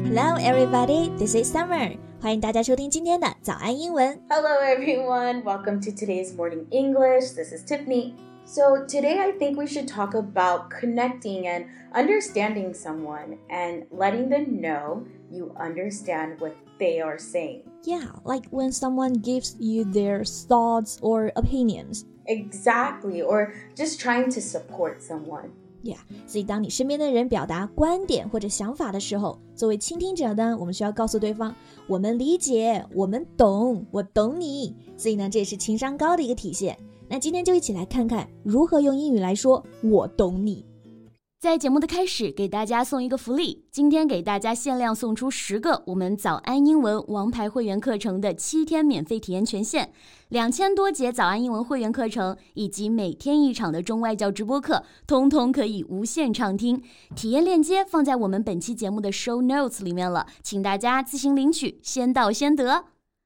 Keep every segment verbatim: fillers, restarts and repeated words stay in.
Hello everybody, this is Summer. 欢迎大家收听今天的早安英文。 Hello everyone, welcome to today's morning English. This is Tiffany. So today I think we should talk about connecting and understanding someone and letting them know you understand what they are saying. Yeah, like when someone gives you their thoughts or opinions. Exactly, or just trying to support someone.Yeah, 所以当你身边的人表达观点或者想法的时候，作为倾听者呢，我们需要告诉对方，我们理解，我们懂，我懂你。所以呢，这也是情商高的一个体现。那今天就一起来看看如何用英语来说我懂你。 在节目的开始，给大家送一个福利，今天给大家限量送出十个我们早安英文王牌会员课程的七天免费体验权限，两千多节早安英文会员课程以及每天一场的中外教直播课，通通可以无限畅听。体验链接放在我们本期节目的 show notes 里面了，请大家自行领取，先到先得。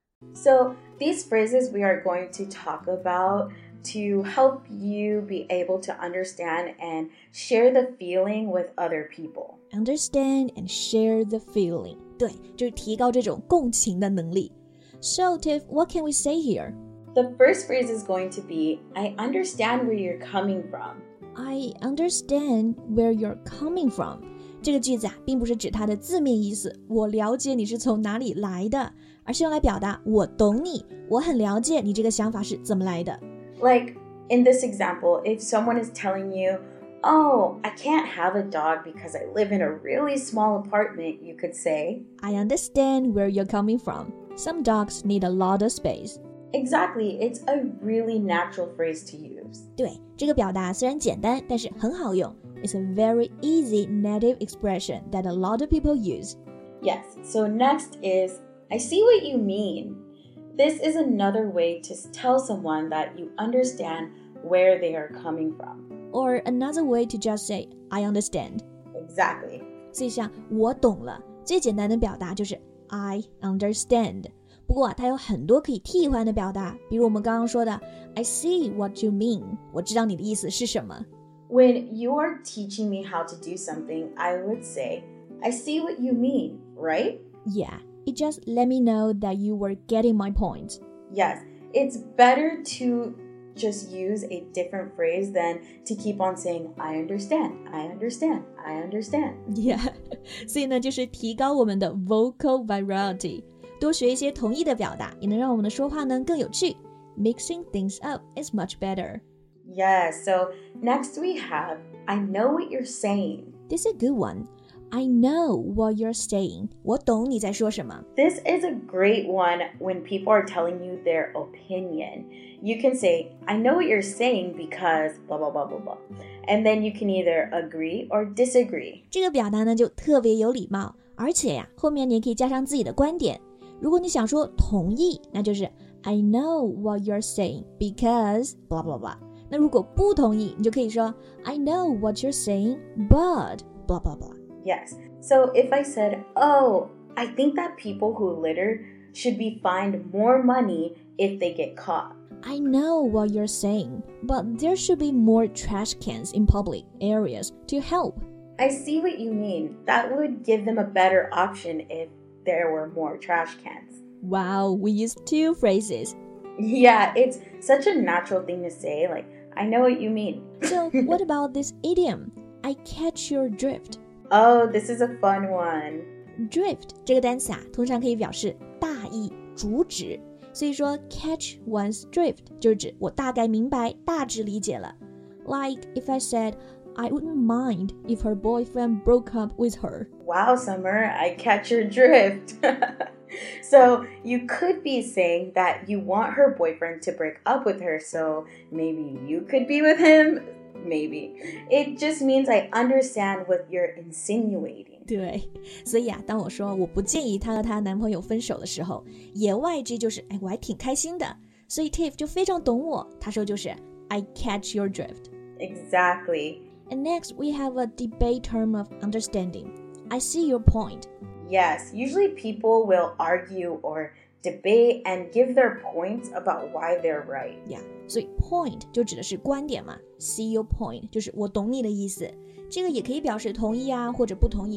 So these phrases we are going to talk about.To help you be able to understand and share the feeling with other people. Understand and share the feeling. 对，就是提高这种共情的能力。So, Tiff, what can we say here? The first phrase is going to be, I understand where you're coming from. I understand where you're coming from. 这个句子啊，并不是指它的字面意思，我了解你是从哪里来的，而是用来表达我懂你，我很了解你这个想法是怎么来的。 Like, in this example, if someone is telling you, oh, I can't have a dog because I live in a really small apartment, you could say, I understand where you're coming from. Some dogs need a lot of space. Exactly, it's a really natural phrase to use. 对，这个表达虽然简单，但是很好用。It's a very easy native expression that a lot of people use. Yes, so next is, I see what you mean.This is another way to tell someone that you understand where they are coming from. Or another way to just say, I understand. Exactly. 所以像我懂了，最简单的表达就是 I understand. 不过啊，它有很多可以替换的表达，比如我们刚刚说的 I see what you mean. 我知道你的意思是什么。 When you are teaching me how to do something, I would say, I see what you mean, right? Yeah.It just let me know that you were getting my point. Yes, it's better to just use a different phrase than to keep on saying, I understand, I understand, I understand. Yeah, 所以呢，就是提高我们的 vocal variety. 多学一些同义的表达，也能让我们的说话呢更有趣。Mixing things up is much better. Yes, so next we have, I know what you're saying. This is a good one.I know what you're saying. 我懂你在说什么。 This is a great one when people are telling you their opinion. You can say, I know what you're saying because blah, blah, blah, blah, blah. And then you can either agree or disagree. 这个表达呢就特别有礼貌，而且呀，后面你也可以加上自己的观点。如果你想说同意，那就是 I know what you're saying because blah, blah, blah. 那如果不同意，你就可以说 I know what you're saying but blah, blah, blah.Yes. So if I said, oh, I think that people who litter should be fined more money if they get caught. I know what you're saying, but there should be more trash cans in public areas to help. I see what you mean. That would give them a better option if there were more trash cans. Wow, we used two phrases. Yeah, it's such a natural thing to say. Like, I know what you mean. So what about this idiom? I catch your drift.Oh, this is a fun one. Drift 这个单词啊，通常可以表示大意、主旨。所以说 catch one's drift 就是指我大概明白、大致理解了。Like if I said, I wouldn't mind if her boyfriend broke up with her. Wow, Summer, I catch your drift. So you could be saying that you want her boyfriend to break up with her, so maybe you could be with him.Maybe. It just means I understand what you're insinuating. 对，所以啊，当我说我不建议她和她男朋友分手的时候，言外之意就是，哎，我还挺开心的。所以 Tiff 就非常懂我，他说就是 I catch your drift. Exactly. And next we have a debate term of understanding. I see your point. Yes, usually people will argue or debate and give their points about why they're right. Yeah, 所以 point 就指的是观点嘛 ，see your point 就是我懂你的意思。这个也可以表示同意啊或者不同意。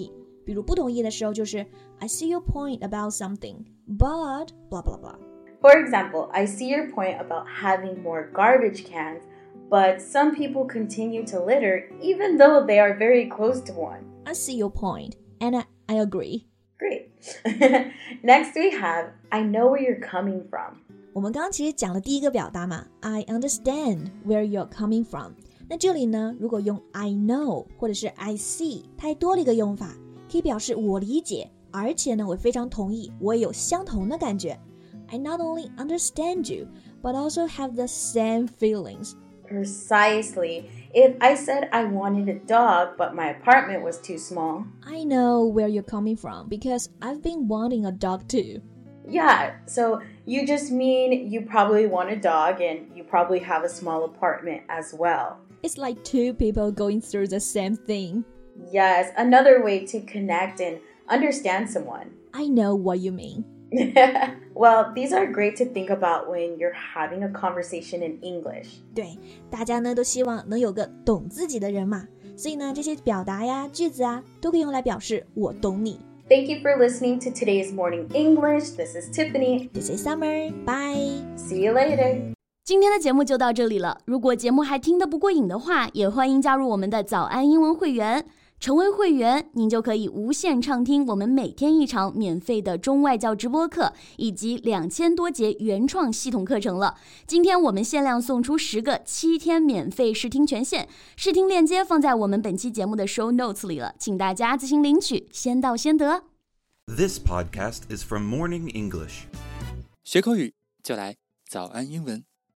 比如不同意的时候就是 I see your point about something, but blah blah blah. For example, I see your point about having more garbage cans, but some people continue to litter even though they are very close to one. I see your point, and I, I agree. Great. Next we have, I know where you're coming from. 我们刚刚其实讲了第一个表达嘛 I understand where you're coming from. 那这里呢，如果用 I know 或者是 I see， 它还多了一个用法，可以表示我理解，而且呢，我非常同意，我也有相同的感觉。I not only understand you, but also have the same feelings. Precisely. If I said I wanted a dog, but my apartment was too small. I know where you're coming from because I've been wanting a dog too. Yeah, so you just mean you probably want a dog and you probably have a small apartment as well. It's like two people going through the same thing. Yes, another way to connect and understand someone. I know what you mean. Well, these are great to think about when you're having a conversation in English. 对，大家呢都希望能有个懂自己的人嘛，所以呢这些表达呀、句子啊，都可以用来表示我懂你。 Thank you for listening to today's Morning English. This is Tiffany. This is Summer. Bye. See you later. 今天的节目就到这里了。如果节目还听得不过瘾的话，也欢迎加入我们的早安英文会员。成为会员，您就可以无限畅听我们每天一场免费的中外教直播课，以及两千多节原创系统课程了。今天我们限量送出十个七天免费试听权限，试听链接放在我们本期节目的 show notes 里了，请大家自行领取，先到先得。 This podcast is from Morning English. 学口语就来早安英文。